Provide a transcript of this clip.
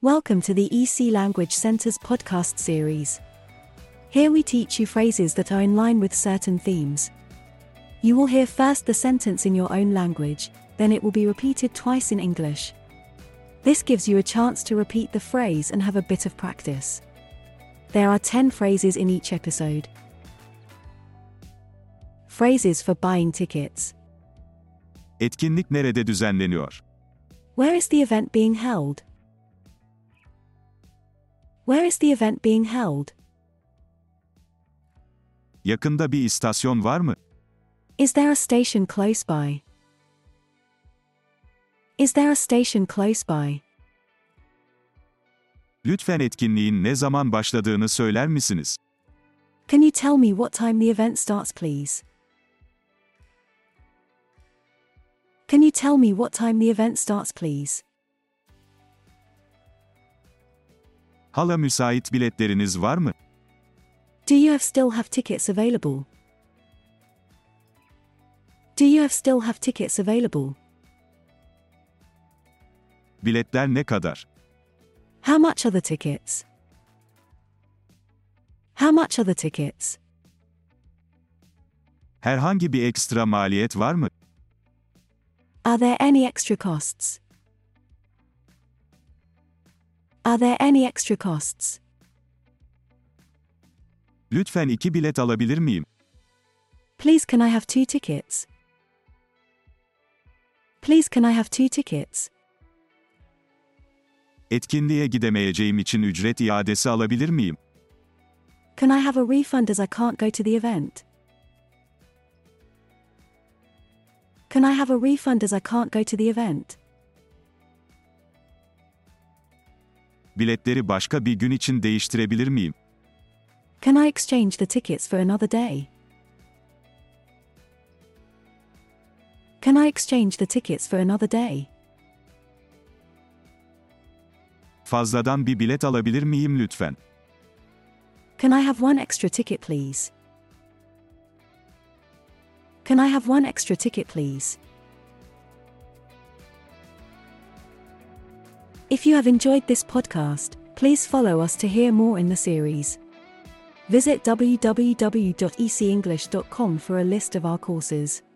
Welcome to the EC Language Center's podcast series. Here we teach you phrases that are in line with certain themes. You will hear first the sentence in your own language, then it will be repeated twice in English. This gives you a chance to repeat the phrase and have a bit of practice. There are 10 phrases in each episode. Phrases for buying tickets. Etkinlik nerede düzenleniyor? Where is the event being held? Where is the event being held? Yakında bir istasyon var mı? Is there a station close by? Is there a station close by? Lütfen etkinliğin ne zaman başladığını söyler misiniz? Can you tell me what time the event starts, please? Can you tell me what time the event starts, please? Hala müsait biletleriniz var mı? Do you still have tickets available? Do you still have tickets available? Biletler ne kadar? How much are the tickets? How much are the tickets? Herhangi bir ekstra maliyet var mı? Are there any extra costs? Are there any extra costs? Lütfen 2 bilet alabilir miyim? Please can I have 2 tickets? Please can I have 2 tickets? Etkinliğe gidemeyeceğim için ücret iadesi alabilir miyim? Can I have a refund as I can't go to the event? Can I have a refund as I can't go to the event? Biletleri başka bir gün için değiştirebilir miyim? Can I exchange the tickets for another day? Can I exchange the tickets for another day? Fazladan bir bilet alabilir miyim lütfen? Can I have one extra ticket, please? Can I have one extra ticket, please? If you have enjoyed this podcast, please follow us to hear more in the series. Visit www.ecenglish.com for a list of our courses.